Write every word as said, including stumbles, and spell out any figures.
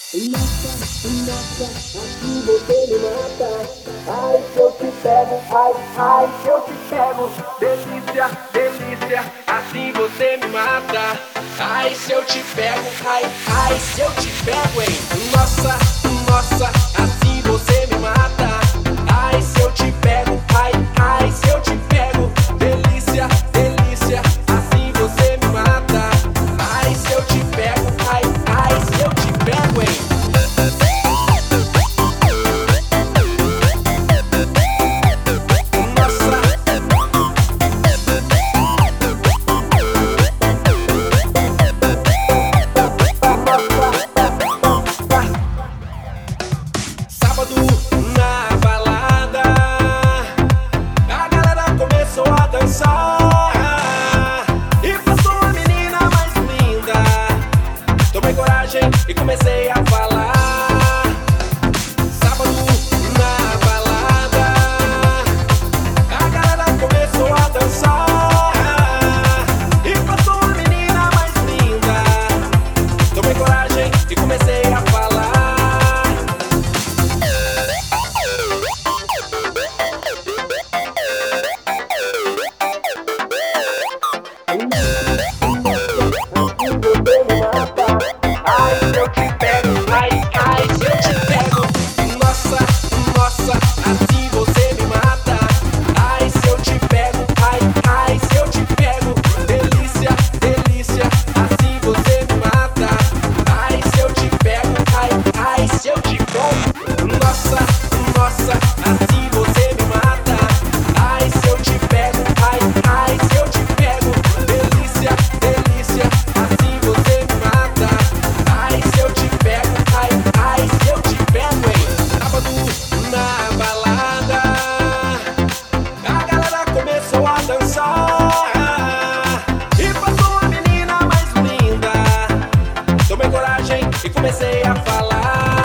Nossa, nossa, assim você me mata. Ai, se eu te pego, ai, ai, se eu te pego. Delícia, delícia, assim você me mata. Ai, se eu te pego, ai, ai, se eu te pego, hein. Nossa, nossa, assim você me mata. Ai, se eu te pego, ai, ai, se eu te pego. Delícia, delícia, assim você me mata. Ai, se eu te pego, ai, ai, se eu te pego, hein. Sábado na balada, a galera começou a dançar e passou a menina mais linda. Tomei coragem e comecei a falar. Sábado na balada, a galera começou a dançar e passou a menina mais linda. Tomei coragem e comecei a falar. Ai, se eu te pego, ai, ai, se eu te pego. Nossa, nossa, assim você me mata. Ai, se eu te pego, ai, ai, se eu te pego. Delícia, delícia, assim você me mata. Ai, se eu te pego, ai, ai, se eu te pego. Nossa, nossa, assim você me mata. Ai, se eu te pego, ai, ai, se eu te pego. Delícia, delícia, assim você me mata. Ai, se eu te pego, ai, ai, se eu te pego, hein. Sábado na balada, a galera começou a dançar e passou a menina mais linda. Tomei coragem e comecei a falar.